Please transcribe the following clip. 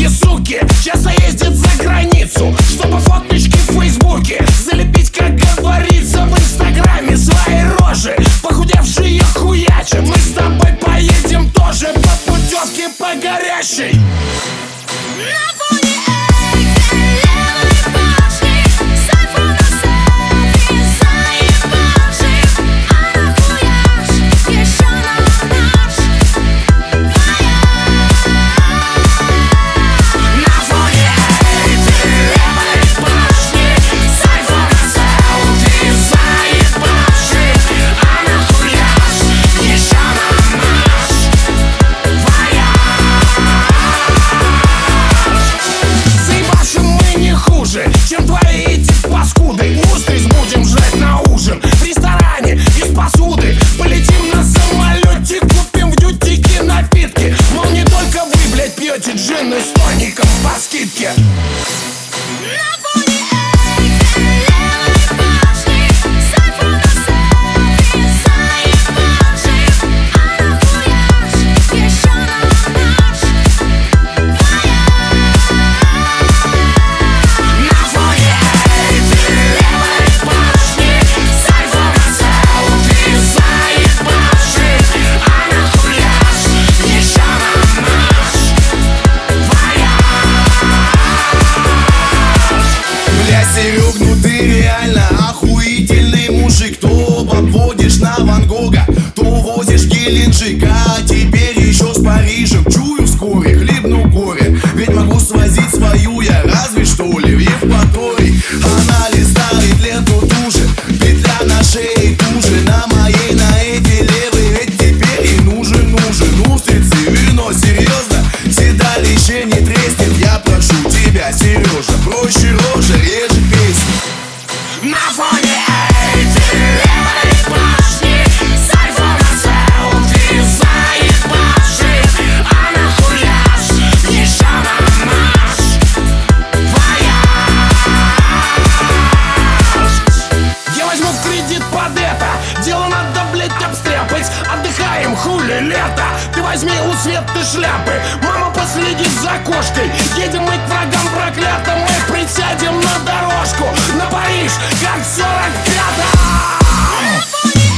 И суки часто ездят за границу, чтобы фоточки в фейсбуке залепить, как говорится, в инстаграме свои рожи. Похудевшие хуячи, мы с тобой поедем тоже по путевке по горящей. Чем твои эти паскуды? Устриц будем жрать на ужин в ресторане из посуды. Полетим на самолете, купим в дютике напитки. Мол, не только вы, блядь, пьете джин с тоником по скидке. Серег, ну ты реально охуительный мужик. То подводишь на Ван Гога, то возишь в Геленджик, а теперь еще с Парижем. Чую, вскоре хлебну горе, ведь могу свозить свою я разве что ли в Евпаторий. Она листает ленту туже, петля на шее туже. На моей, на эти левой, ведь теперь и нужен устрицы, вино, серьезно. Седалище не треснет, я прошу тебя, Сережа. Проще рожа, реже песни. На фоне Эйфелевой башни с айфона селфи заебавший. А нахуя ж еще на наш вояж? Я возьму в кредит под это, дело надо, блять, обстряпать. Отдыхаем, хули лето, ты возьми у Светы шляпы. Мама последит за кошкой, едем мы к врагам проклятым. Мы присядем на дорожку на Париж, как в 45-м.